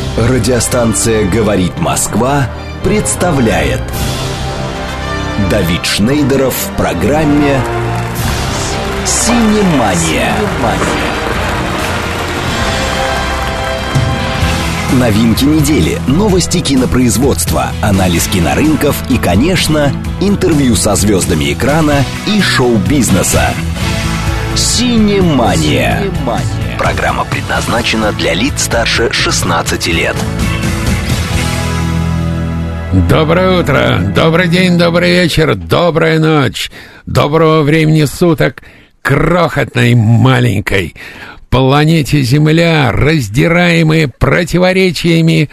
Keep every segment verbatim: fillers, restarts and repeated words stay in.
Радиостанция «Говорит Москва» представляет Давид Шнейдеров в программе «Синемания». Новинки недели, новости кинопроизводства, анализ кинорынков и, конечно, интервью со звездами экрана и шоу-бизнеса. «Синемания». Программа предназначена для лиц старше шестнадцати лет. Доброе утро, добрый день, добрый вечер, добрая ночь, доброго времени суток крохотной маленькой планете Земля, раздираемой противоречиями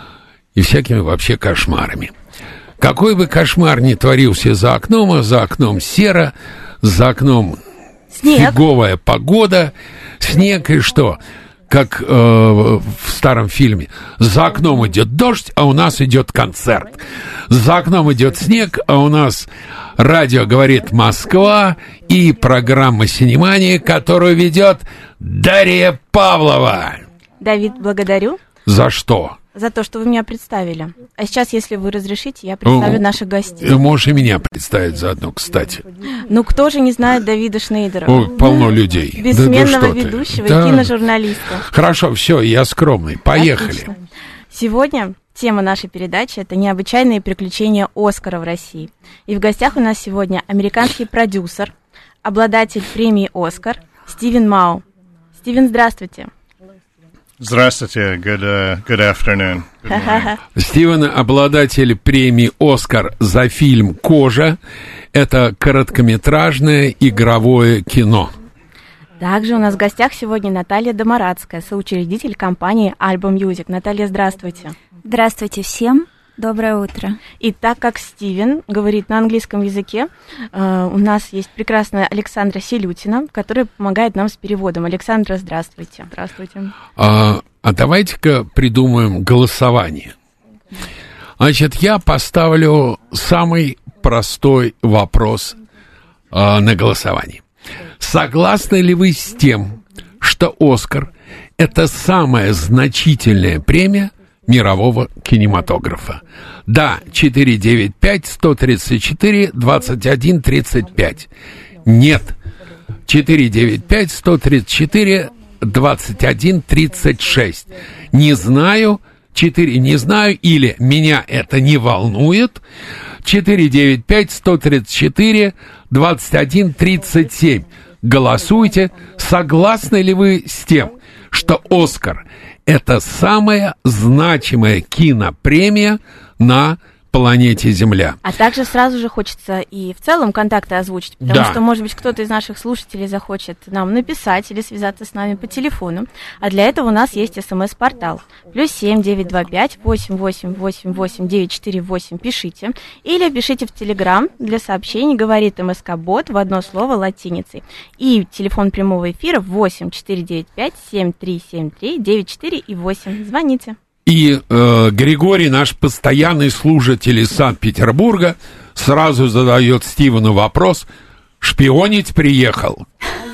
и всякими вообще кошмарами. Какой бы кошмар ни творился за окном, а за окном серо, за окном снег. Фиговая погода, снег и что? Как э, в старом фильме. За окном идет дождь, а у нас идет концерт. За окном идет снег, а у нас радио «Говорит Москва» и программа «Синемания», которую ведет Дарья Павлова. Давид, благодарю. За что? За то, что вы меня представили. А сейчас, если вы разрешите, я представлю ну, наших гостей. Можешь и меня представить заодно, кстати. Ну, кто же не знает Давида Шнейдера? О, полно людей. Бессменного да, да ведущего да. и киножурналиста. Хорошо, все, я скромный. Поехали. Отлично. Сегодня тема нашей передачи – это необычайные приключения Оскара в России. И в гостях у нас сегодня американский продюсер, обладатель премии «Оскар» Стивен Мау. Стивен, здравствуйте. Здравствуйте, good, uh, good afternoon. Good Стивен, обладатель премии «Оскар» за фильм «Кожа». Это короткометражное игровое кино. Также у нас в гостях сегодня Наталья Домарадская, соучредитель компании Album Music. Наталья, здравствуйте. Здравствуйте всем. Доброе утро. И так как Стивен говорит на английском языке, э, у нас есть прекрасная Александра Селютина, которая помогает нам с переводом. Александра, здравствуйте. Здравствуйте. А, а давайте-ка придумаем голосование. Значит, я поставлю самый простой вопрос э, на голосовании. Согласны ли вы с тем, что «Оскар» — это самая значительная премия мирового кинематографа? Да, четыре девять пять сто тридцать четыре двадцать один тридцать пять. Нет, четыре девять пять сто тридцать четыре двадцать один тридцать шесть. Не знаю, четыре не знаю, или меня это не волнует. четыре девять пять сто тридцать четыре двадцать один тридцать семь. Голосуйте, согласны ли вы с тем, что «Оскар» — это самая значимая кинопремия на планете Земля. А также сразу же хочется и в целом контакты озвучить, потому да. что, может быть, кто-то из наших слушателей захочет нам написать или связаться с нами по телефону. А для этого у нас есть смс-портал. Плюс семь девять два пять восемь восемь восемь восемь девять четыре восемь. Пишите. Или пишите в Телеграм для сообщений «Говорит МСК-бот» в одно слово латиницей. И телефон прямого эфира восемь четыре девять пять семь три семь три девять четыре и восемь. Звоните. И э, Григорий, наш постоянный слушатель из Санкт-Петербурга, сразу задает Стивену вопрос: шпионить приехал?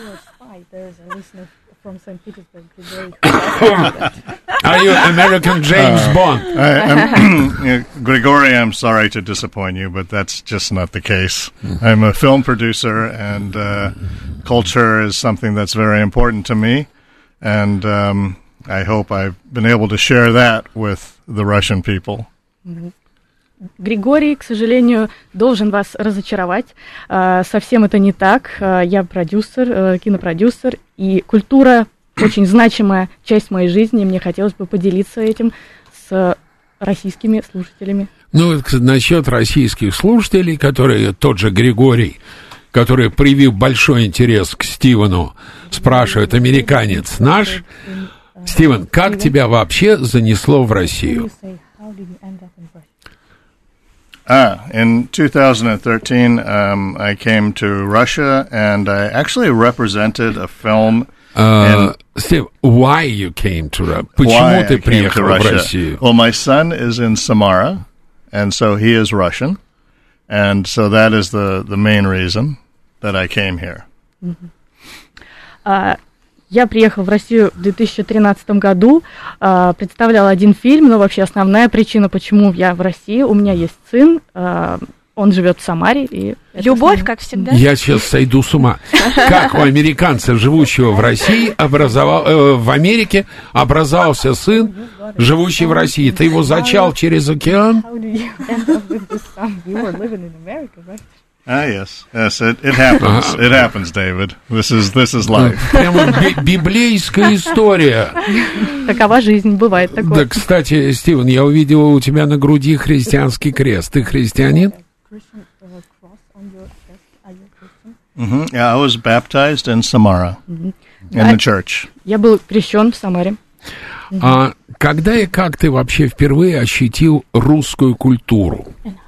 Are you American James uh, Bond? I, I'm, Grigory, I'm sorry to disappoint you, but that's just not the case. I'm a film producer, and uh, culture is something that's very important to me, and um, I hope I've been able to share that with the Russian people. Григорий, к сожалению, должен вас разочаровать. Совсем это не так. Я продюсер, кинопродюсер, и культура очень значимая часть моей жизни. Мне хотелось бы поделиться этим с российскими слушателями. Ну, насчет российских слушателей, которые тот же Григорий, который, привив большой интерес к Стивену, спрашивает: американец наш? Стивен, как тебя вообще занесло в Россию? Ah, in two thousand thirteen, um, I came to Russia, and I actually represented a film. Uh, Steve, why you came to Russia? Почему ты приехал в Россию? Well, my son is in Samara, and so he is Russian, and so that is the, the main reason that I came here. Mm-hmm. Uh, Я приехала в Россию в две тысячи тринадцатом году, э, представляла один фильм, но вообще основная причина, почему я в России, у меня есть сын, э, он живет в Самаре. И любовь, как всегда. Я сейчас сойду с ума. Как у американца, живущего в России, образовал, э, в Америке образовался сын, живущий в России? Ты его зачал через океан? Ah, yes, yes, it, it happens. It happens, David. This is this is life. Прямо би- библейская история. Такова жизнь, бывает такое. Да, кстати, Стивен, я увидел у тебя на груди христианский крест. Ты христианин? Mm-hmm. Yeah, I was baptized in Samara, mm-hmm. in the church. Я был крещен в Самаре. Mm-hmm. А когда и как ты вообще впервые ощутил русскую культуру?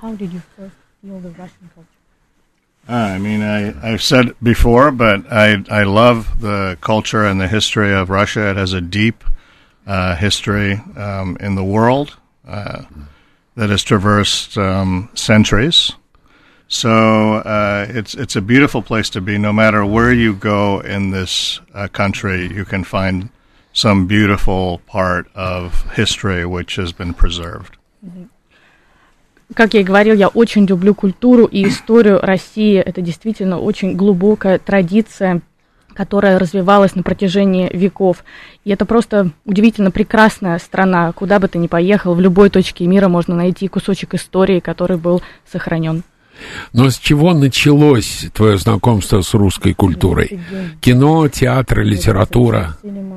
I mean, I, I've said before, but I I love the culture and the history of Russia. It has a deep uh, history um, in the world uh, that has traversed um, centuries. So uh, it's it's a beautiful place to be. No matter where you go in this uh, country, you can find some beautiful part of history which has been preserved. Как я и говорил, я очень люблю культуру и историю России. Это действительно очень глубокая традиция, которая развивалась на протяжении веков. И это просто удивительно прекрасная страна. Куда бы ты ни поехал, в любой точке мира можно найти кусочек истории, который был сохранен. Но с чего началось твое знакомство с русской культурой? Кино, театр, литература?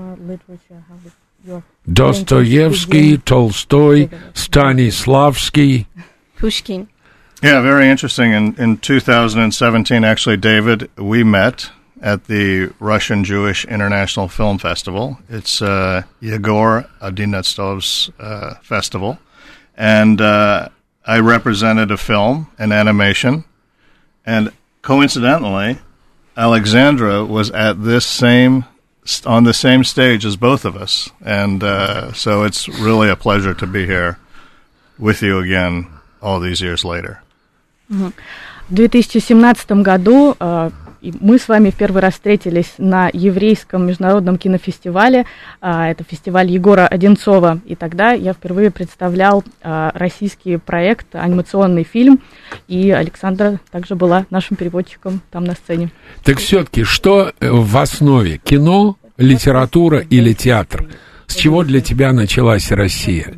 Достоевский, Толстой, Станиславский. Pushkin. Yeah, very interesting. In in two thousand seventeen, actually, David, we met at the Russian Jewish International Film Festival. It's uh, Yegor Adinetsov's uh, festival. And uh, I represented a film, an animation. And coincidentally, Alexandra was at this same, on the same stage as both of us. And uh, so it's really a pleasure to be here with you again all these years later. В две тысячи семнадцатом году э, мы с вами в первый раз встретились на еврейском международном кинофестивале. Э, это фестиваль Егора Одинцова. И тогда я впервые представлял э, российский проект, анимационный фильм. И Александра также была нашим переводчиком там на сцене. Так все-таки, что в основе? Кино, литература или театр? С чего для тебя началась Россия?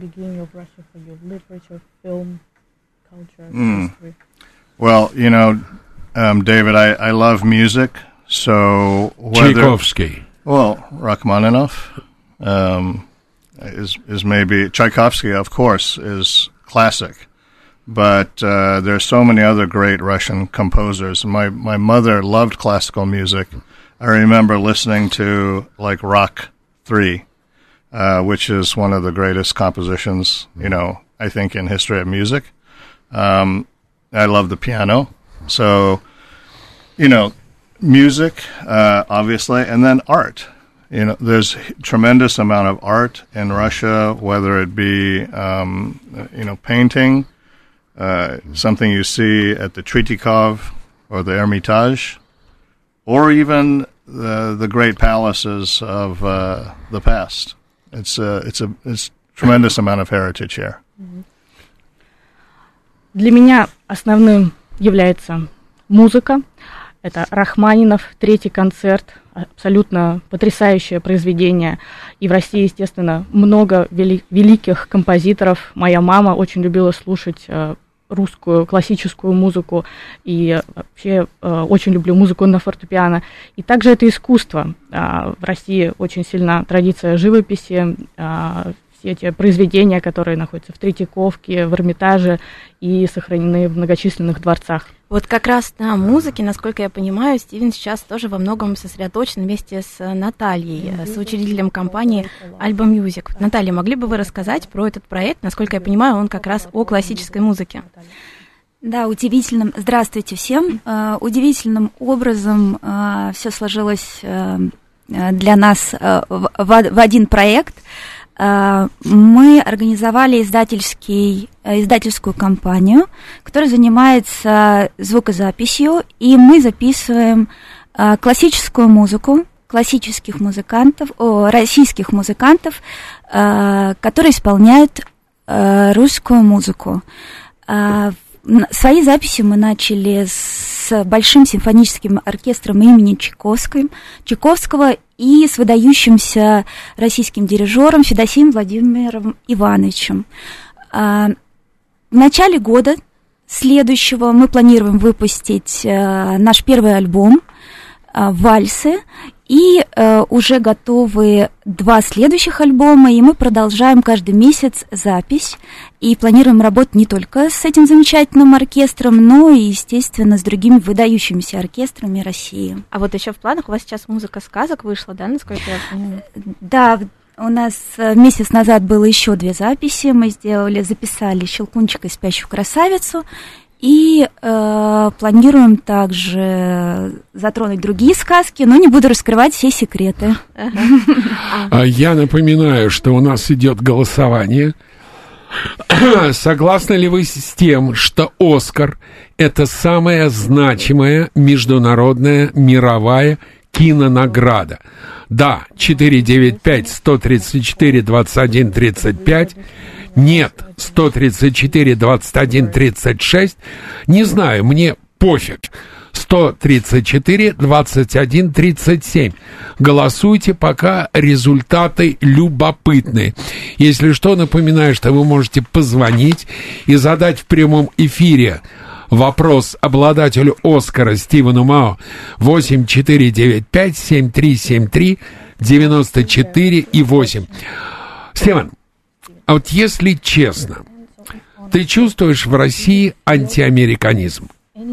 Mm. Well, you know, um, David, I, I love music, so whether, Tchaikovsky. Well, Rachmaninoff um, is is maybe Tchaikovsky, of course, is classic, but uh, there are so many other great Russian composers. My my mother loved classical music. I remember listening to like Rock three, uh, which is one of the greatest compositions, you know, I think in history of music. Um, I love the piano. So, you know, music, uh, obviously, and then art. You know, there's a tremendous amount of art in Russia, whether it be, um, you know, painting, uh, something you see at the Tretyakov or the Hermitage, or even the the great palaces of uh, the past. It's a, it's a it's tremendous amount of heritage here. Для меня основным является музыка. Это Рахманинов, третий концерт, абсолютно потрясающее произведение. И в России, естественно, много вели- великих композиторов. Моя мама очень любила слушать э, русскую классическую музыку. И вообще э, очень люблю музыку на фортепиано. И также это искусство. Э, в России очень сильна традиция живописи, э, эти произведения, которые находятся в Третьяковке, в Эрмитаже и сохранены в многочисленных дворцах. Вот как раз на музыке, насколько я понимаю, Стивен сейчас тоже во многом сосредоточен вместе с Натальей, с учредителем компании Alba Music. Наталья, могли бы вы рассказать про этот проект? Насколько я понимаю, он как раз о классической музыке. Да, удивительным. Здравствуйте всем. Uh, удивительным образом uh, все сложилось uh, для нас uh, в, в один проект. Мы организовали издательский, издательскую компанию, которая занимается звукозаписью, и мы записываем классическую музыку, классических музыкантов, о, российских музыкантов, э, которые исполняют э, русскую музыку. Э, свои записи мы начали с Большим симфоническим оркестром имени Чайковского, Чайковского и с выдающимся российским дирижером Федосеем Владимиром Ивановичем. Э, в начале года следующего мы планируем выпустить э, наш первый альбом э, «Вальсы», и э, уже готовы два следующих альбома, и мы продолжаем каждый месяц запись, и планируем работать не только с этим замечательным оркестром, но и, естественно, с другими выдающимися оркестрами России. А вот еще в планах у вас сейчас музыка сказок вышла, да, насколько я понимаю? Да, у нас месяц назад было еще две записи, мы сделали, записали «Щелкунчика и спящую красавицу», и э, планируем также затронуть другие сказки, но не буду раскрывать все секреты. Я напоминаю, что у нас идет голосование. Согласны ли вы с тем, что «Оскар» — это самая значимая международная мировая кинонаграда? Да, четыре девять пять сто тридцать четыре двадцать один тридцать пять. Нет, сто тридцать четыре двадцать один тридцать шесть. Не знаю, мне пофиг. сто тридцать четыре двадцать один тридцать семь. Голосуйте, пока результаты любопытные. Если что, напоминаю, что вы можете позвонить и задать в прямом эфире вопрос обладателю «Оскара» Стивену Мао восемь четыре девять пять семь три семь три девяносто четыре и восемь. Стивен, а вот если честно, ты чувствуешь в России антиамериканизм?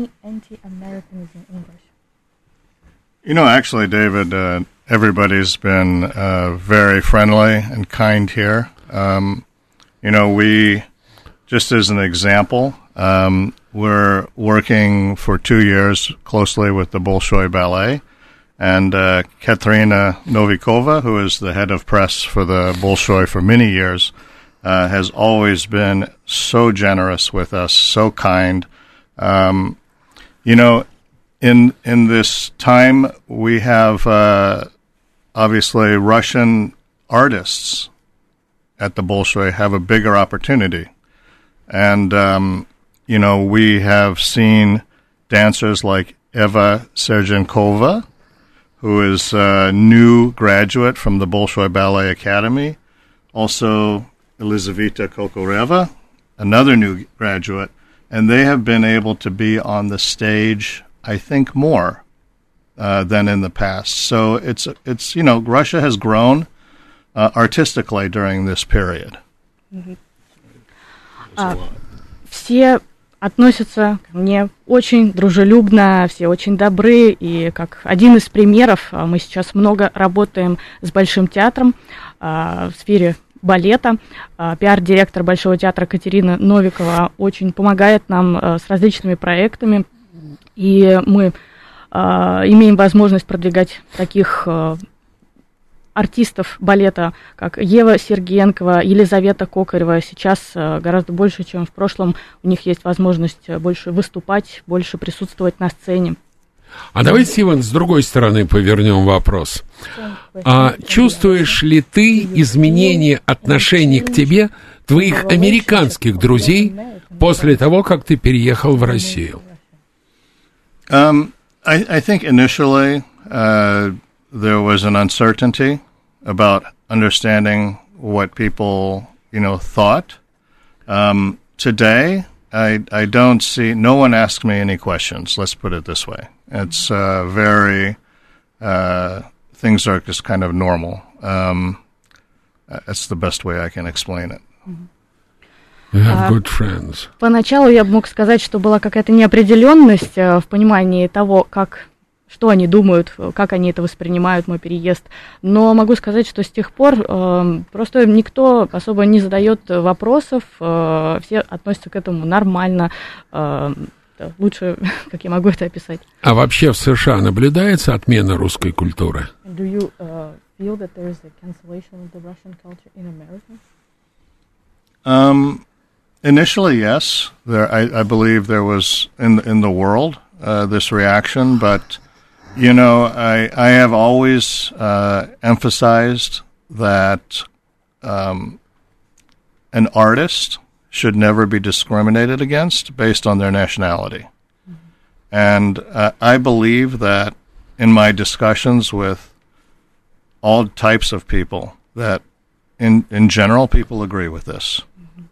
You know, actually, David, uh, everybody's been uh, very friendly and kind here. Um, you know, we, just as an example, um, we're working for two years closely with the Bolshoi Ballet. And uh, Katerina Novikova, who is the head of press for the Bolshoi for many years, uh, has always been so generous with us, so kind. Um, you know, in in this time, we have uh, obviously Russian artists at the Bolshoi have a bigger opportunity. And, um, you know, we have seen dancers like Eva Sergenkova, who is a new graduate from the Bolshoi Ballet Academy. Also, Elizaveta Kokoreva, another new graduate. And they have been able to be on the stage, I think, more uh, than in the past. So it's, it's you know, Russia has grown uh, artistically during this period. Mm-hmm. Uh, все относятся ко мне очень дружелюбно, все очень добры, и как один из примеров, мы сейчас много работаем с Большим театром в сфере балета. Пиар-директор Большого театра Катерина Новикова очень помогает нам с различными проектами, и мы имеем возможность продвигать таких артистов балета, как Ева Сергенкова, Елизавета Кокарева. Сейчас гораздо больше, чем в прошлом. У них есть возможность больше выступать, больше присутствовать на сцене. А давай, Стивен, с другой стороны повернем вопрос. А чувствуешь ли ты изменение отношений к тебе твоих американских друзей после того, как ты переехал в Россию? Um, I, I think initially uh, there was an uncertainty about understanding what people, you know, thought. Um, today, I, I don't see, no one asks me any questions, let's put it this way. It's uh, very, uh, things are just kind of normal. Um, that's the best way I can explain it. You have good friends. Поначалу я бы мог сказать, что была какая-то неопределенность в понимании того, как, что они думают, как они это воспринимают, мой переезд. Но могу сказать, что с тех пор э, просто никто особо не задает вопросов, э, все относятся к этому нормально. Э, лучше, как я могу это описать. А вообще в США наблюдается отмена русской культуры? Do you uh, feel that there is a cancellation of the Russian culture in America? Um, initially, yes. There, I, I believe there was in in the world uh, this reaction, but you know, I, I have always uh, emphasized that um, an artist should never be discriminated against based on their nationality. Mm-hmm. And uh, I believe that in my discussions with all types of people, that in, in general people agree with this.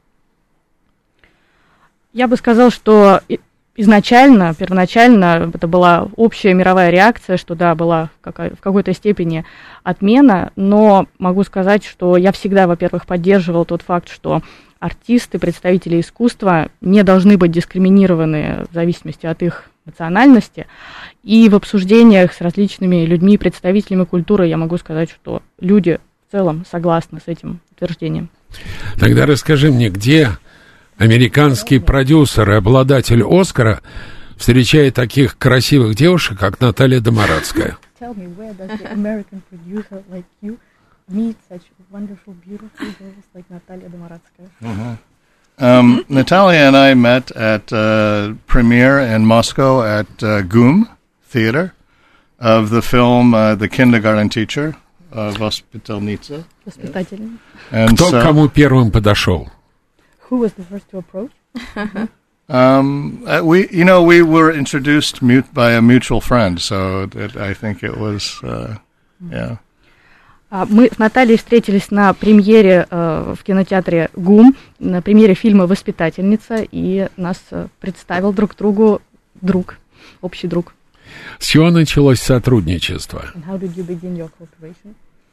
Я бы сказал, что изначально, первоначально это была общая мировая реакция, что да, была какая, в какой-то степени отмена, но могу сказать, что я всегда, во-первых, поддерживал тот факт, что артисты, представители искусства не должны быть дискриминированы в зависимости от их национальности, и в обсуждениях с различными людьми, представителями культуры я могу сказать, что люди в целом согласны с этим утверждением. Тогда расскажи мне, где американский продюсер и обладатель Оскара встречает таких красивых девушек, как Наталья Домарадская? Tell me, where does the American producer like you meet such wonderful, beautiful girls like Natalia Domaradskaya? Mm-hmm. Um, Natalia and I met at uh, premiere in Moscow at uh, GUM Theater of the film uh, The Kindergarten Teacher, uh, Воспитательница. Yes. Кто so, кому первым подошел? Who was the first to approach? um, uh, we, you know, we were introduced mute by a mutual friend, so it, I think it was, uh, yeah. Мы с Натальей встретились на премьере э, в кинотеатре ГУМ, на премьере фильма «Воспитательница», и нас э, представил друг другу друг, общий друг. С чего началось сотрудничество? And how did you begin your cooperation?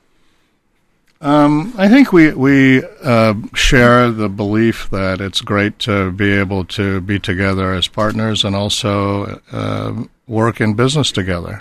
Um, I think we we uh, share the belief that it's great to be able to be together as partners and also uh, work in business together.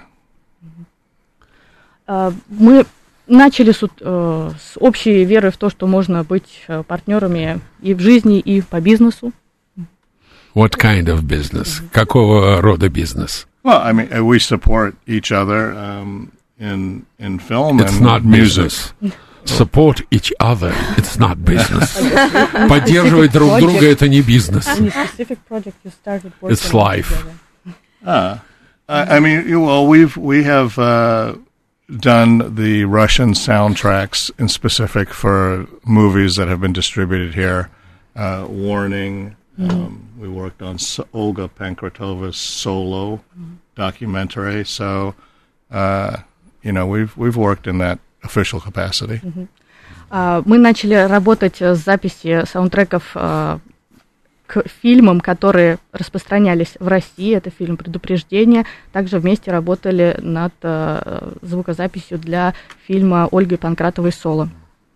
Uh, мы начали с, uh, с общей веры в то, что можно быть uh, партнерами и в жизни, и по бизнесу. What kind of business? Какого рода бизнес? Well, I mean, we support each other um, in in film It's and not music. Business. Support each other. It's not business. Поддерживать друг друга — это не бизнес. It's life. Ah, I, I mean, well, we've we have uh, done the Russian soundtracks in specific for movies that have been distributed here. Uh, Warning. Mm-hmm. Um, we worked on so- Olga Pankratova's Solo mm-hmm. documentary. So, uh, you know, we've we've worked in that official capacity. Mm-hmm. Uh, мы начали работать с записи саундтреков uh, к фильмам, которые распространялись в России. Это фильм «Предупреждение». Также вместе работали над uh, звукозаписью для фильма Ольги Панкратовой «Соло».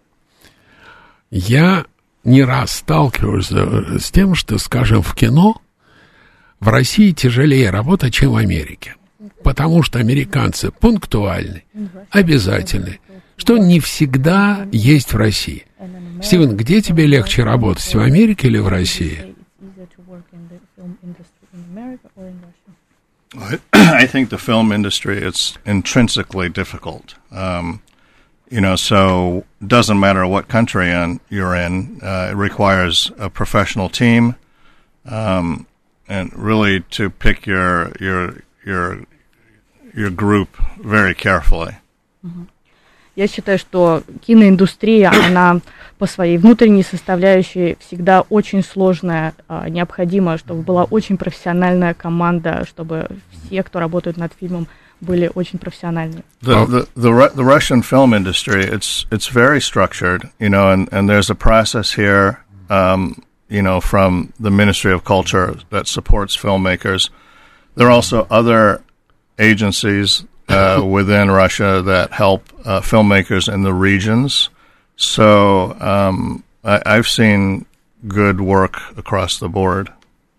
Я не раз сталкиваюсь с тем, что, скажем, в кино в России тяжелее работать, чем в Америке. Потому что американцы пунктуальны, обязательны, что не всегда есть в России. Стивен, где тебе легче работать, в Америке или в России? I think the film industry, it's intrinsically difficult. Um, you know, so it doesn't matter what country in, you're in, uh, it requires a professional team, um, and really to pick your your your your group very carefully. Mm-hmm. Я считаю, что киноиндустрия, она по своей внутренней составляющей всегда очень сложная. Необходимо, чтобы была очень профессиональная команда, чтобы все, кто работает над фильмом, были очень профессиональны. The, the, the, the Russian film industry, it's it's very structured, you know, and, and there's a process here, um, you know, from the Ministry of Culture that supports filmmakers. There are also other agencies Uh, within Russia that help uh, filmmakers in the regions. So um, I, I've seen good work across the board.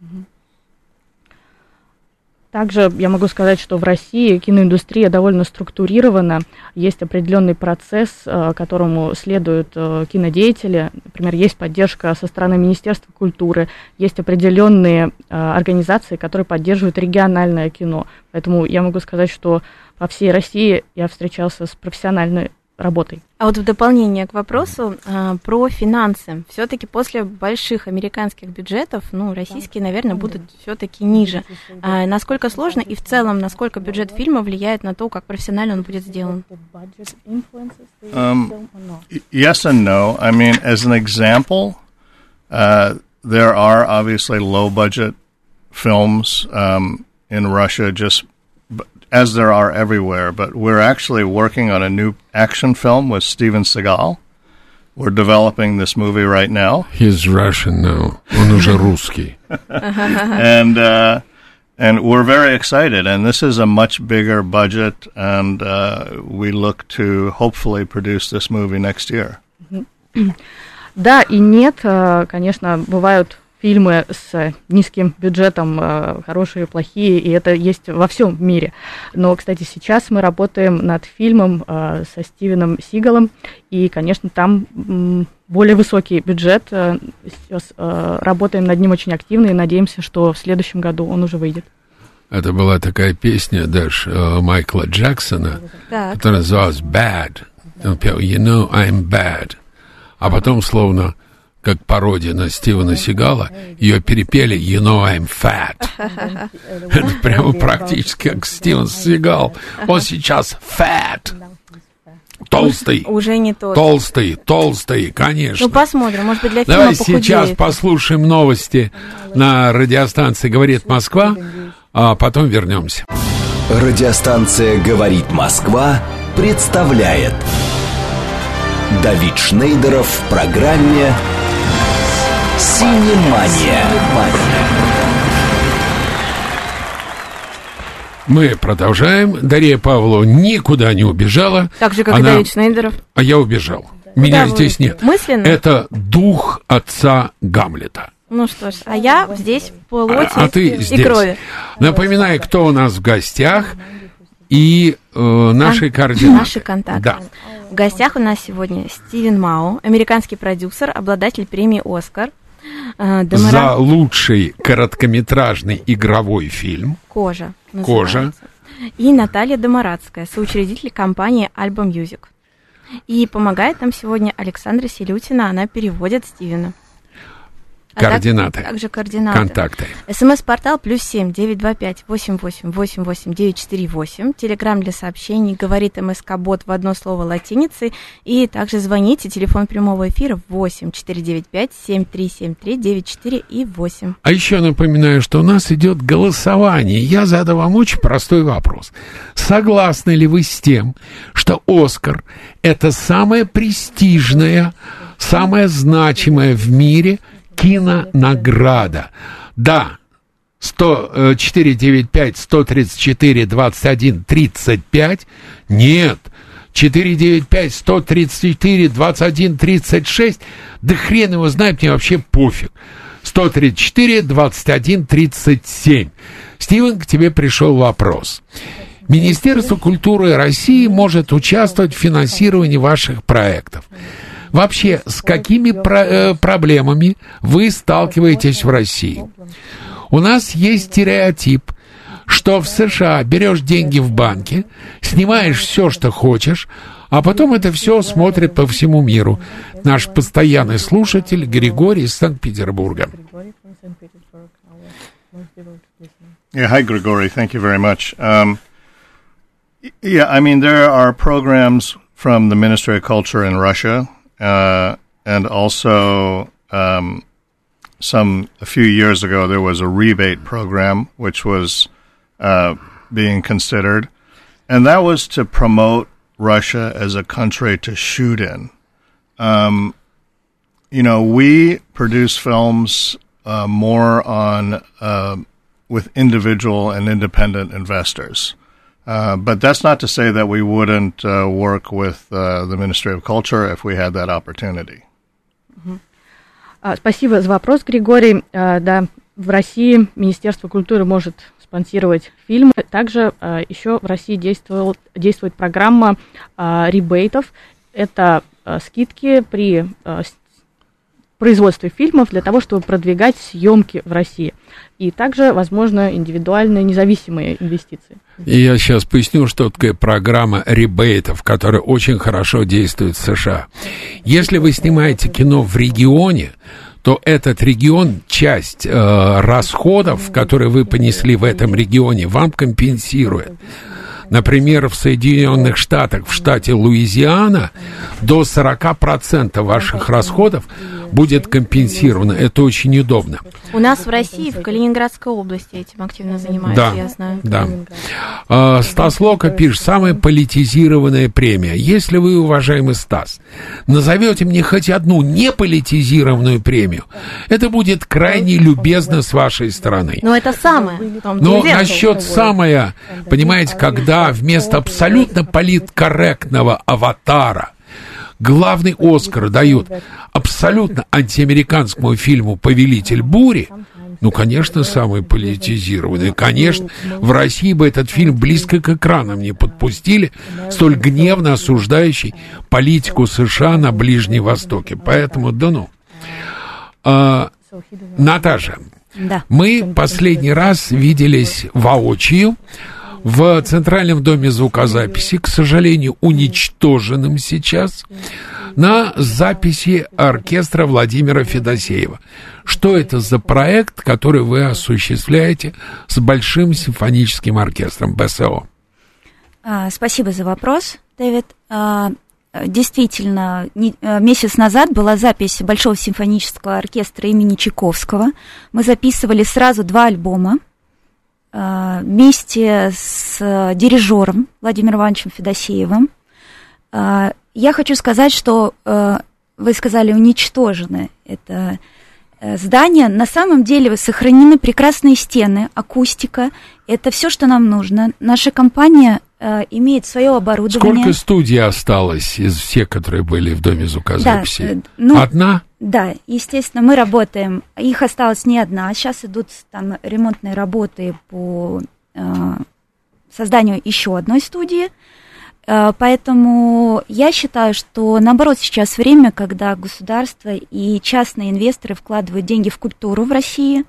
Также я могу сказать, что в России киноиндустрия довольно структурирована, есть определенный процесс, которому следуют кинодеятели. Например, есть поддержка со стороны Министерства культуры, есть определенные организации, которые поддерживают региональное кино. Поэтому я могу сказать, что по всей России я встречался с профессиональной работой. А вот в дополнение к вопросу э, про финансы. Все-таки после больших американских бюджетов, ну, российские, наверное, будут все-таки ниже. А насколько сложно и в целом, насколько бюджет фильма влияет на то, как профессионально он будет сделан? Um, yes and no. I mean, as an example, uh, there are obviously low-budget films um, in Russia, just as there are everywhere, but we're actually working on a new action film with Steven Seagal. We're developing this movie right now. He's Russian now. Он уже русский. And uh, and we're very excited. And this is a much bigger budget, and uh, we look to hopefully produce this movie next year. Да и нет, конечно, бывают фильмы с низким бюджетом, хорошие, плохие, и это есть во всем мире. Но, кстати, сейчас мы работаем над фильмом со Стивеном Сигалом, и, конечно, там более высокий бюджет. Сейчас работаем над ним очень активно и надеемся, что в следующем году он уже выйдет. Это была такая песня даже Майкла Джексона, Так. которая называлась «Bad». Он пел «You know I'm bad». А потом, словно как пародия на Стивена Сигала, ее перепели «You know I'm fat». Это прямо практически как Стивен Сигал. Он сейчас fat. Толстый. Уже не тот. Толстый, толстый, конечно. Ну, посмотрим, может быть, для фильма Давай похудеет. сейчас послушаем новости на радиостанции «Говорит Москва», а потом вернемся. Радиостанция «Говорит Москва» представляет Давид Шнейдеров в программе «Синемания». Мы продолжаем. Дарья Павлова никуда не убежала. Так же, как Она... и Давид Шнейдеров. А я убежал. Меня Куда здесь вы? нет. Мысленно? Это дух отца Гамлета. Ну что ж, а я здесь в плоти А, а ты и здесь. крови. Напоминаю, кто у нас в гостях и э, наши А, координаты. Наши контакты. Да. В гостях у нас сегодня Стивен Мау, американский продюсер, обладатель премии «Оскар». э, Демара- За лучший короткометражный игровой фильм. «Кожа». «Кожа». называется. И Наталья Домарадская, соучредитель компании «Альба Мьюзик». И помогает нам сегодня Александра Селютина, она переводит Стивена. А Координаты. так- также координаты. Контакты. СМС-портал плюс семь девять два пять восемь восемь восемь восемь девять четыре восемь. Телеграм для сообщений говорит МСК-бот в одно слово латиницей. И также звоните. Телефон прямого эфира восемь четыре девять пять семь три семь три девять четыре и восемь. А еще напоминаю, что у нас идет голосование. Я задам вам очень простой вопрос. Согласны ли вы с тем, что «Оскар» — это самая престижная, самая значимая в мире кинонаграда? Да. сто четыре девять пять сто тридцать четыре двадцать один тридцать пять. Нет. четыре девять пять сто тридцать четыре двадцать один тридцать шесть. Да хрен его знает, мне вообще пофиг. сто тридцать четыре двадцать один тридцать семь. Стивен, к тебе пришел вопрос. Министерство культуры России может участвовать в финансировании ваших проектов. Вообще, с какими про- э, проблемами вы сталкиваетесь в России? У нас есть стереотип, что в США берешь деньги в банке, снимаешь все, что хочешь, а потом это все смотрят по всему миру. Наш постоянный слушатель Григорий из Санкт-Петербурга. Yeah, hi, Grigory. Thank you very much. Um, yeah, I mean, there are programs from the Ministry of Culture in Russia, uh, and also um, some a few years ago there was a rebate program which was uh, being considered, and that was to promote Russia as a country to shoot in. Um, you know, we produce films uh, more on uh, with individual and independent investors. Uh, but that's not to say that we wouldn't uh, work with uh, the Ministry of Culture if we had that opportunity. Спасибо за вопрос, Григорий. Да, в России Министерство культуры может спонсировать фильмы. Также еще в России действовал, действует программа ребейтов. Это скидки при производстве фильмов для того, чтобы продвигать съемки в России. И также, возможно, индивидуальные независимые инвестиции. И я сейчас поясню, что такое программа ребейтов, которая очень хорошо действует в США. Если вы снимаете кино в регионе, то этот регион, часть э, расходов, которые вы понесли в этом регионе, вам компенсирует. Например, в Соединенных Штатах, в штате Луизиана, до сорок процентов ваших расходов будет компенсировано. Это очень удобно. У нас в России, в Калининградской области этим активно занимаются, да, я знаю. Да. А, Стас Лока пишет, самая политизированная премия. Если вы, уважаемый Стас, назовете мне хоть одну неполитизированную премию, это будет крайне любезно с вашей стороны. Но это самое. Но насчет самое, понимаете, когда вместо абсолютно политкорректного аватара главный Оскар дают абсолютно антиамериканскому фильму «Повелитель бури», ну, конечно, самый политизированный. Конечно, в России бы этот фильм близко к экранам не подпустили, столь гневно осуждающий политику США на Ближнем Востоке. Поэтому, да ну. А, Наташа, да. Мы последний раз виделись воочию в Центральном доме звукозаписи, к сожалению, уничтоженным сейчас, на записи оркестра Владимира Федосеева. Что это за проект, который вы осуществляете с Большим симфоническим оркестром БСО? А, спасибо за вопрос, Дэвид. А, действительно, не, месяц назад была запись Большого симфонического оркестра имени Чайковского. Мы записывали сразу два альбома вместе с дирижером Владимиром Ивановичем Федосеевым. Я хочу сказать, что вы сказали уничтожено это здание. На самом деле сохранены прекрасные стены, акустика. Это все, что нам нужно. Наша компания имеет свое оборудование. Сколько студий осталось из всех, которые были в доме звукозаписи? Да, ну, одна? Да, естественно, мы работаем. Их осталось не одна. Сейчас идут там ремонтные работы по э, созданию еще одной студии. Э, поэтому я считаю, что наоборот сейчас время, когда государство и частные инвесторы вкладывают деньги в культуру в России.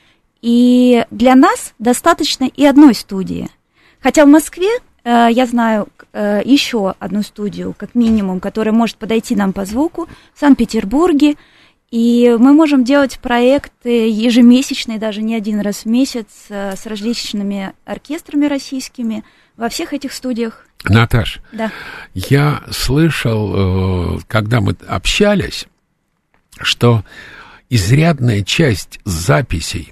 И для нас достаточно и одной студии. Хотя в Москве э, я знаю э, еще одну студию, как минимум, которая может подойти нам по звуку, в Санкт-Петербурге. И мы можем делать проекты ежемесячные, даже не один раз в месяц, э, с различными оркестрами российскими во всех этих студиях. Наташ, да. Я слышал, э, когда мы общались, что изрядная часть записей,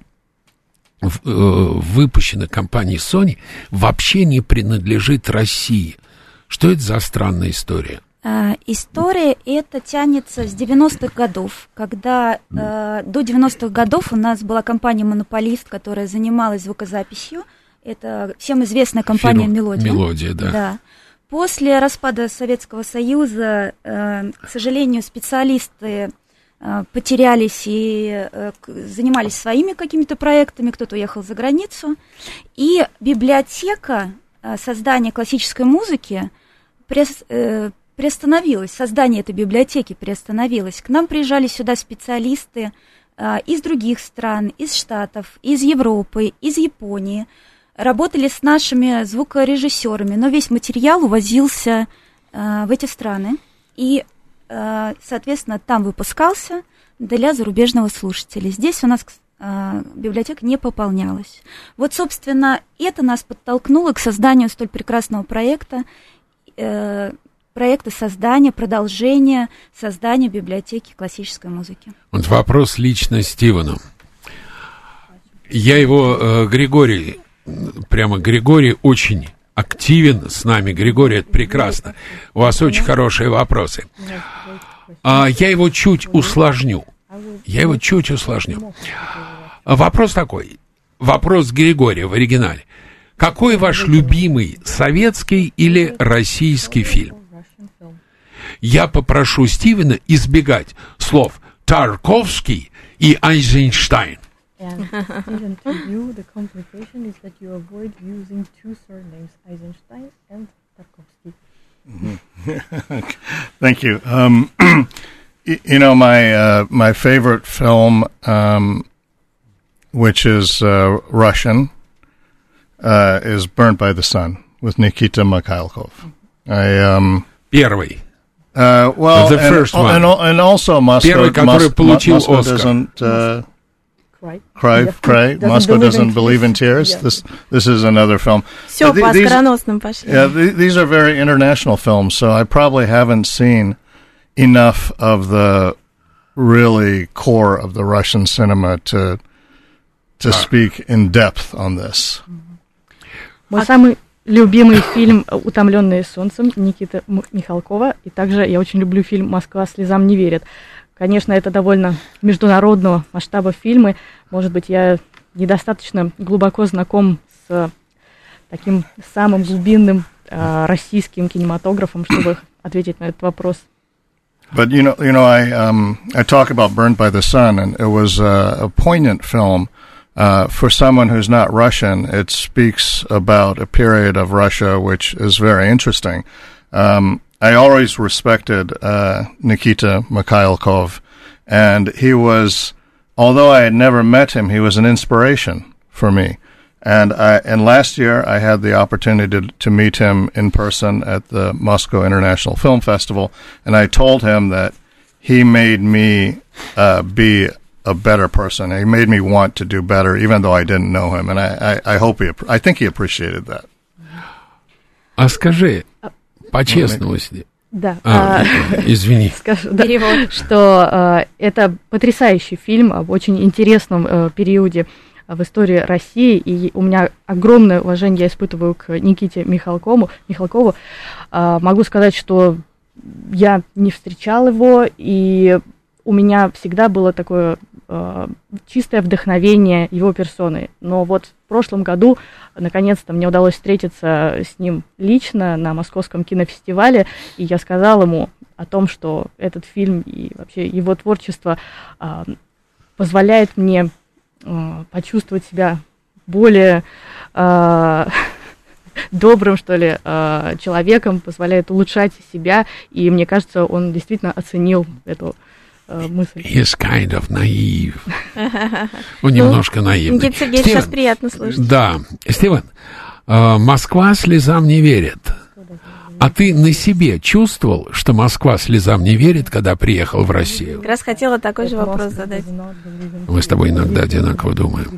выпущенных компанией Sony, вообще не принадлежит России. Что это за странная история? А, история эта тянется с девяностых годов, когда э, до девяностых годов у нас была компания-монополист, которая занималась звукозаписью. Это всем известная компания Фирма «Мелодия». «Мелодия», да. да. После распада Советского Союза, э, к сожалению, специалисты потерялись и занимались своими какими-то проектами, кто-то уехал за границу. И библиотека создания классической музыки приостановилась, создание этой библиотеки приостановилось. К нам приезжали сюда специалисты из других стран, из Штатов, из Европы, из Японии, работали с нашими звукорежиссерами, но весь материал увозился в эти страны. И соответственно, там выпускался для зарубежного слушателя. Здесь у нас э, библиотека не пополнялась. Вот, собственно, это нас подтолкнуло к созданию столь прекрасного проекта, э, проекта создания, продолжения создания библиотеки классической музыки. Вот вопрос лично Стивену. Я его, э, Григорий, прямо Григорий очень активен с нами. Григорий, это прекрасно. У вас очень хорошие вопросы. А я его чуть усложню. Я его чуть усложню. Вопрос такой. Вопрос Григория в оригинале. Какой ваш любимый советский или российский фильм? Я попрошу Стивена избегать слов Тарковский и Эйзенштейн. And even to you, the complication is that you avoid using two surnames, Eisenstein and Tarkovsky. Mm-hmm. Thank you. Um, you know, my uh, my favorite film, um, which is uh, Russian, uh, is Burnt by the Sun with Nikita Mikhalkov. I um, Первый. Uh, well, the and, first one. and, and also Moscow, Первый, который Mos- получил Moscow Оскар. doesn't uh, Cry. cry, Yes. cry. Doesn't Moscow believe doesn't in believe in tears. tears. Yeah. This this is another film. Все, Th- по these- оскароносным пошли. Yeah, th- these are very international films, so I probably haven't seen enough of the really core of the Russian cinema to to speak in depth on this. Мой самый любимый фильм «Утомленные солнцем» Никиты М- Михалкова. И также я очень люблю фильм «Москва слезам не верит». Конечно, это довольно международного масштаба фильмы. Может быть, я недостаточно глубоко знаком с таким самым глубинным э, российским кинематографом, чтобы ответить на этот вопрос. But you know, you know, I um, I talk about Burned by the Sun, and it was uh, a poignant film. Uh, for someone who's not Russian, it speaks about a period of Russia which is very interesting. Um, I always respected uh, Nikita Mikhalkov, and he was, although I had never met him, he was an inspiration for me. And I, and last year I had the opportunity to, to meet him in person at the Moscow International Film Festival, and I told him that he made me uh, be a better person. He made me want to do better, even though I didn't know him. And I, I, I hope he, I think he appreciated that. А скажи, по-честному, если... Да. А, а, извини. Скажу, да, что э, это потрясающий фильм об очень интересном э, периоде в истории России, и у меня огромное уважение я испытываю к Никите Михалкову. Михалкову. Э, могу сказать, что я не встречал его, и у меня всегда было такое э, чистое вдохновение его персоной. Но вот в прошлом году, наконец-то, мне удалось встретиться с ним лично на Московском кинофестивале, и я сказала ему о том, что этот фильм и вообще его творчество э, позволяет мне э, почувствовать себя более э, добрым, что ли, э, человеком, позволяет улучшать себя, и мне кажется, он действительно оценил эту мысль. He's kind of naive. Он немножко наивный. Никита Сергеевич, сейчас приятно слышать. Да. Стивен, э, Москва слезам не верит. А ты на себе чувствовал, что Москва слезам не верит, когда приехал в Россию? Как раз хотела такой же вопрос задать. Мы с тобой иногда одинаково думаем.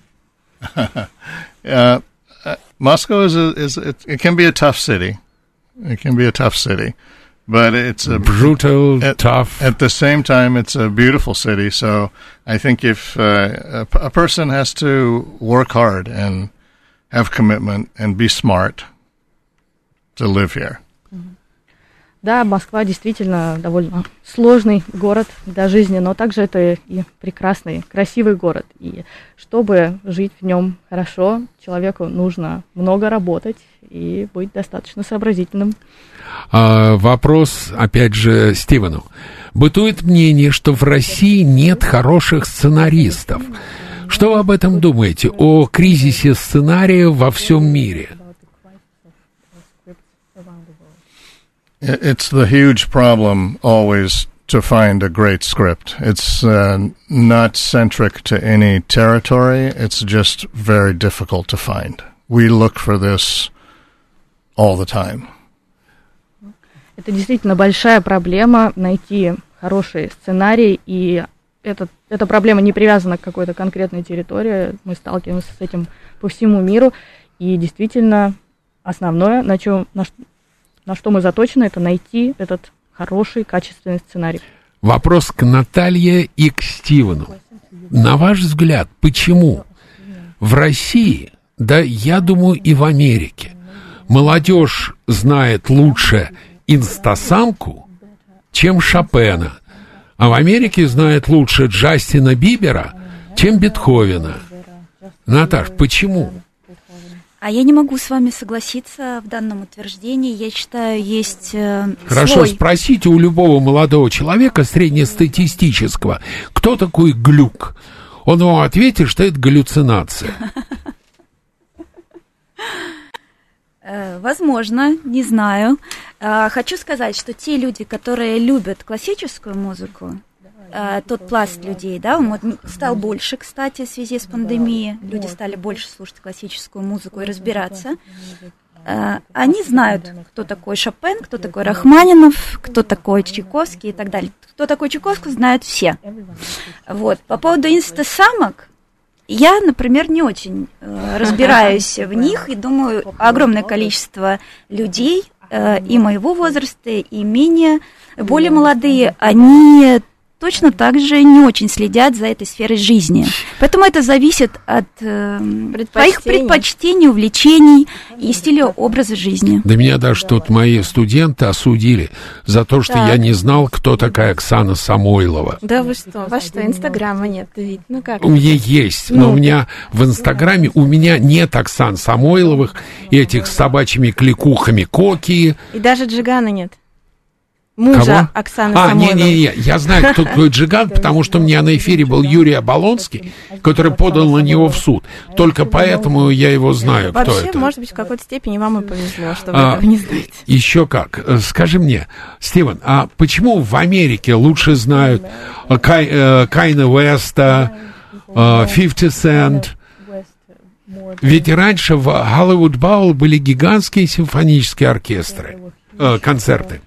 uh, Moscow is a, is it, it can be a tough city. It can be a tough city. But it's a brutal, at, tough. At the same time, it's a beautiful city. So I think if uh, a, a person has to work hard and have commitment and be smart to live here. Да, Москва действительно довольно сложный город для жизни, но также это и прекрасный, красивый город. И чтобы жить в нем хорошо, человеку нужно много работать и быть достаточно сообразительным. А, вопрос, опять же, Стивену. Бытует мнение, что в России нет хороших сценаристов. Что вы об этом думаете, о кризисе сценария во всем мире? It's the huge problem always to find a great script. It's uh, not centric to any territory. It's just very difficult to find. We look for this all the time. Это действительно большая проблема найти хороший сценарий, и это, эта проблема не привязана к какой-то конкретной территории. Мы сталкиваемся с этим по всему миру, и действительно основное, на чем, на, на что мы заточены, это найти этот хороший, качественный сценарий. Вопрос к Наталье и к Стивену. На ваш взгляд, почему в России, да, я думаю, и в Америке, молодежь знает лучше инстасамку, чем Шопена, а в Америке знает лучше Джастина Бибера, чем Бетховена? Наташ, почему? А я не могу с вами согласиться в данном утверждении. Я считаю, есть э, Хорошо, свой... спросите у любого молодого человека среднестатистического, кто такой глюк. Он вам ответит, что это галлюцинация. Возможно, не знаю. Хочу сказать, что те люди, которые любят классическую музыку, тот пласт людей, да, он стал больше, кстати, в связи с пандемией. Люди стали больше слушать классическую музыку и разбираться. Они знают, кто такой Шопен, кто такой Рахманинов, кто такой Чайковский и так далее. Кто такой Чайковский, знают все. Вот. По поводу инстасамок, я, например, не очень э, разбираюсь в них, и думаю, огромное количество людей э, и моего возраста, и менее, более молодые, они точно так же не очень следят за этой сферой жизни. Поэтому это зависит от э, своих предпочтений, увлечений и стиля образа жизни. Да меня даже тут мои студенты осудили за то, что так. я не знал, кто такая Оксана Самойлова. Да вы что? Вас что, Инстаграма нет? Ну как? У меня есть, но ну. у меня в Инстаграме у меня нет Оксан Самойловых и этих с собачьими кликухами Коки. И даже Джигана нет. Мужа Кого? Оксаны а, Самойловой. не-не-не, я знаю, кто такой Джиган, потому что у меня на эфире был Юрий Оболонский, который подал на него в суд. Только поэтому я его знаю, Вообще, кто это. Вообще, может быть, в какой-то степени вам и повезло, что вы а, этого не знаете. Еще как. Скажи мне, Стивен, а почему в Америке лучше знают Кайна Уэста, фифти Cent? Ведь раньше в Hollywood Bowl были гигантские симфонические оркестры, э, концерты.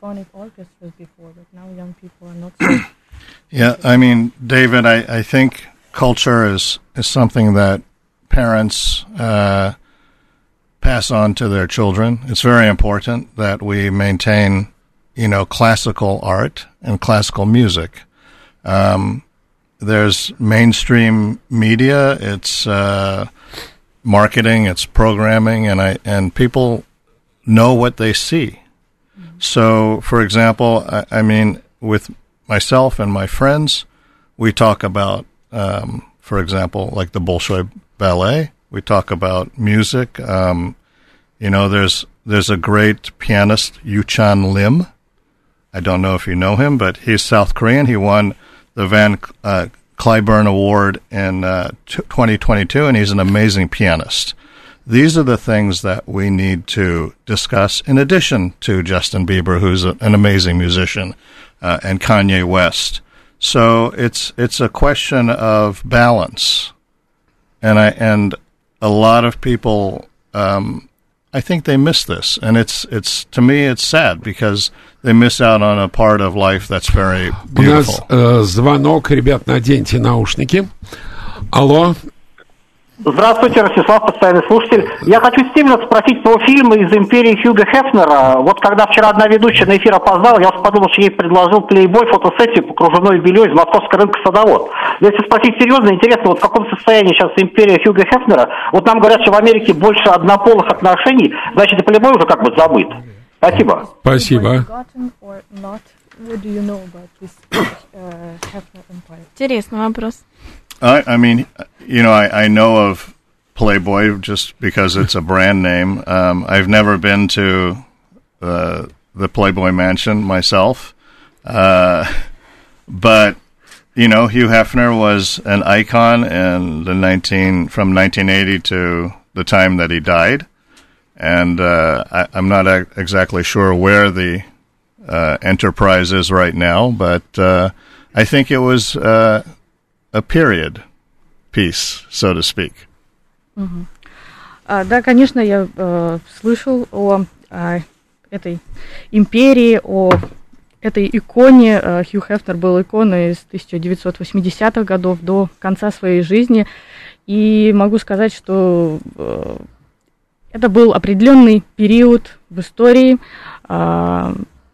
Yeah, I mean, David, I, I think culture is, is something that parents uh, pass on to their children. It's very important that we maintain, you know, classical art and classical music. Um, there's mainstream media, it's uh, marketing, it's programming, and I and people know what they see. So, for example, I, I mean, with myself and my friends, we talk about, um, for example, like the Bolshoi Ballet. We talk about music. Um, you know, there's there's a great pianist, Yu-chan Lim. I don't know if you know him, but he's South Korean. He won the Van uh, Cliburn Award in uh, twenty twenty-two, and he's an amazing pianist. These are the things that we need to discuss in addition to Justin Bieber, who's a, an amazing musician, uh, and Kanye West. So it's it's a question of balance, and I and a lot of people, um, I think they miss this, and it's it's to me it's sad because they miss out on a part of life that's very beautiful. У нас э, звонок, ребят, наденьте наушники. Алло. Здравствуйте, Ростислав, постоянный слушатель. Я хочу Стивена спросить про фильмы из «Империи» Хьюга Хефнера. Вот когда вчера одна ведущая на эфир опоздала, я подумал, что ей предложил плейбой фотосессию по кружевной белье из московского рынка «Садовод». Если спросить серьезно, интересно, вот в каком состоянии сейчас «Империя» Хьюга Хефнера? Вот нам говорят, что в Америке больше однополых отношений, значит, и плейбой уже как бы забыт. Спасибо. Спасибо. Интересный вопрос. I, I mean, you know, I, I know of Playboy just because it's a brand name. Um, I've never been to uh, the Playboy Mansion myself. Uh, but, you know, Hugh Hefner was an icon in the nineteen from nineteen eighty to the time that he died. And uh, I, I'm not a- exactly sure where the uh, enterprise is right now, but uh, I think it was... Uh, a period piece, so to speak. Uh-huh. А, да, конечно, я э, слышал о, о этой империи, о этой иконе. Э, Хью Хефнер был иконой с тысяча девятьсот восьмидесятых годов до конца своей жизни. И могу сказать, что э, это был определенный период в истории. Э,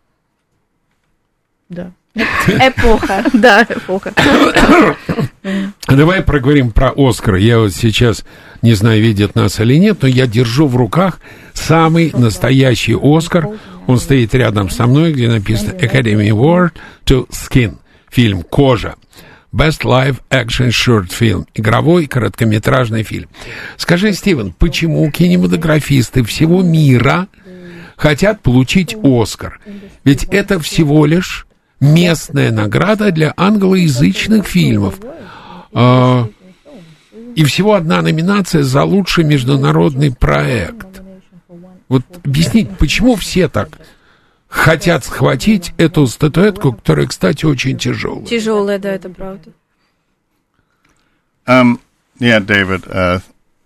да. Эпоха. Да, эпоха. Давай проговорим про Оскар. Я вот сейчас, не знаю, видят нас или нет, но я держу в руках самый настоящий Оскар. Он стоит рядом со мной, где написано Academy Award to Skin. Фильм «Кожа». Best Live Action Short Film. Игровой короткометражный фильм. Скажи, Стивен, почему кинематографисты всего мира хотят получить Оскар? Ведь это всего лишь местная награда для англоязычных фильмов. А, и всего одна номинация за лучший международный проект. Вот объяснить, почему все так хотят схватить эту статуэтку, которая, кстати, очень тяжелая. Тяжелая, да, это правда. Um, yeah, David. Uh,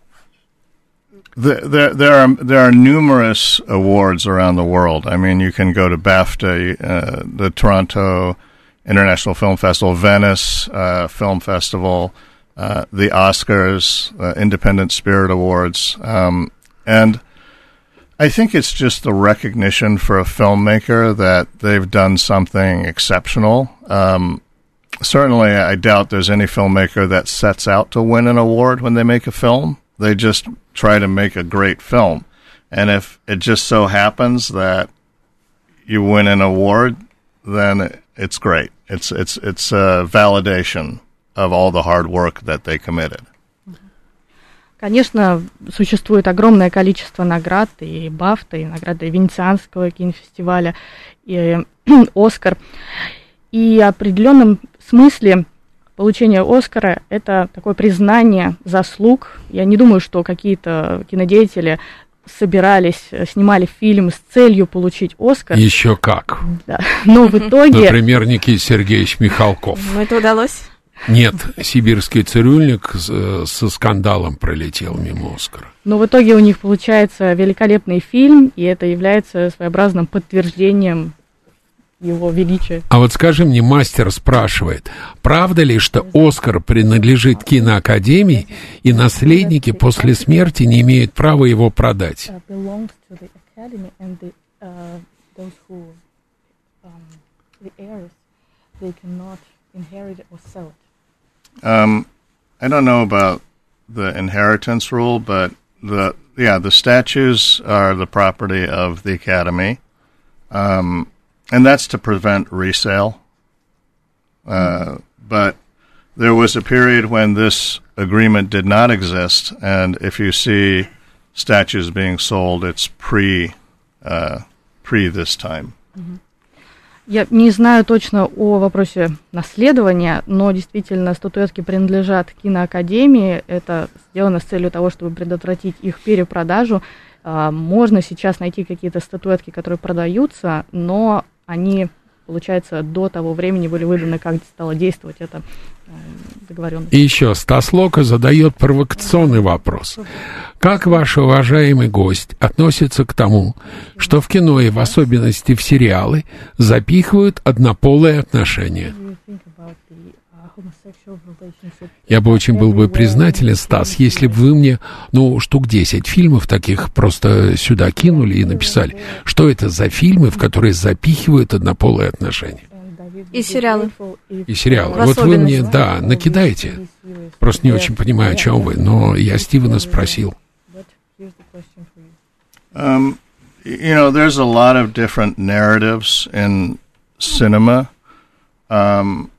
the, there, there are there are numerous awards around the world. I mean, you can go to BAFTA, uh, the Toronto International Film Festival, Venice uh, Film Festival, uh, the Oscars, uh, Independent Spirit Awards, um, and I think it's just the recognition for a filmmaker that they've done something exceptional. Um, certainly, I doubt there's any filmmaker that sets out to win an award when they make a film. They just try to make a great film. And if it just so happens that you win an award, then it's great. It's it's it's a validation of all the hard work that they committed. Конечно, существует огромное количество наград, и БАФТА, и награды Венецианского кинофестиваля, и Оскар. И в определенном смысле получение Оскара – это такое признание заслуг. Я не думаю, что какие-то кинодеятели собирались, снимали фильм с целью получить Оскар. Еще как. Да. Но в итоге... Например, Никита Сергеевич Михалков. Ну, это удалось? Нет, «Сибирский цирюльник» со скандалом пролетел мимо Оскара. Но в итоге у них получается великолепный фильм, и это является своеобразным подтверждением его величия. А вот скажи мне, мастер спрашивает, правда ли, что Оскар принадлежит киноакадемии, и наследники после смерти не имеют права его продать? Um, I don't know about the inheritance rule, but the yeah, the statues are the property of the Academy, um, and that's to prevent resale. Uh, mm-hmm. But there was a period when this agreement did not exist, and if you see statues being sold, it's pre uh, pre this time. Mm-hmm. Я не знаю точно о вопросе наследования, но действительно статуэтки принадлежат киноакадемии. Это сделано с целью того, чтобы предотвратить их перепродажу. Можно сейчас найти какие-то статуэтки, которые продаются, но они, получается, до того времени были выданы, как стало действовать это договоренность. И еще Стас Лока задает провокационный вопрос. Как ваш уважаемый гость относится к тому, что в кино и в особенности в сериалы запихивают однополые отношения? Я бы очень был бы признателен, Стас, если бы вы мне, ну, штук десять фильмов таких просто сюда кинули и написали, что это за фильмы, в которые запихивают однополые отношения. И сериалы. И сериалы. Вот вы мне, да, накидаете. Просто не очень понимаю, о чем вы, но я Стивена спросил. Um, you know, there's a lot of different narratives in cinema. Um,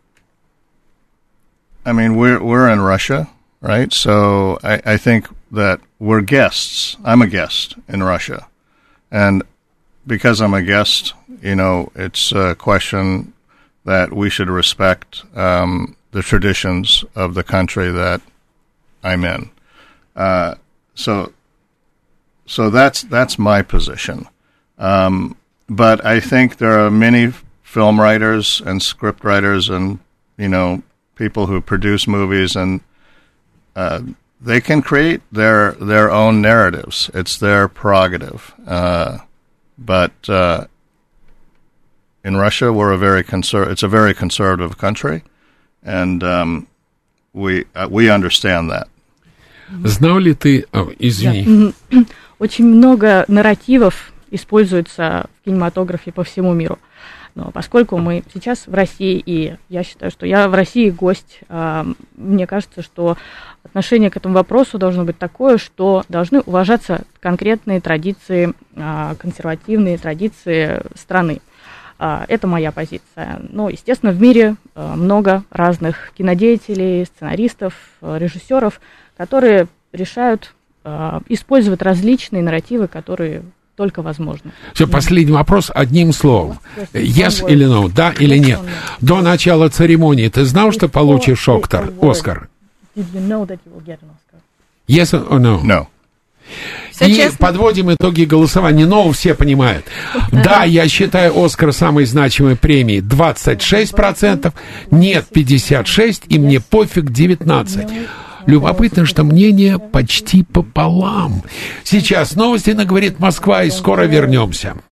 I mean, we're we're in Russia, right? So I, I think that we're guests. I'm a guest in Russia, and because I'm a guest, you know, it's a question that we should respect um, the traditions of the country that I'm in. Uh, so, so that's that's my position. Um, but I think there are many film writers and script writers and, you know, people who produce movies, and uh, they can create their their own narratives. It's their prerogative. Uh, but uh, in Russia, we're a very conser- it's a very conservative country, and um, we uh, we understand that. Знал ли ты... О, извини. Да. Очень много нарративов используется в кинематографе по всему миру. Но поскольку мы сейчас в России, и я считаю, что я в России гость, мне кажется, что отношение к этому вопросу должно быть такое, что должны уважаться конкретные традиции, консервативные традиции страны. Это моя позиция. Но, естественно, в мире много разных кинодеятелей, сценаристов, режиссеров, которые решают использовать различные нарративы, которые только возможно. Все, последний вопрос одним словом. Yes или no, да или нет. До начала церемонии ты знал, что получишь Оскар? Оскар? Did you know that you will get an Oscar? Yes or no? No. Все и честно. подводим итоги голосования. Но все понимают. Да, я считаю «Оскар» самой значимой премией двадцать шесть процентов, нет пятьдесят шесть процентов, и мне пофиг девятнадцать процентов. Любопытно, что мнение почти пополам. Сейчас новости на «Говорит Москва», и скоро вернемся.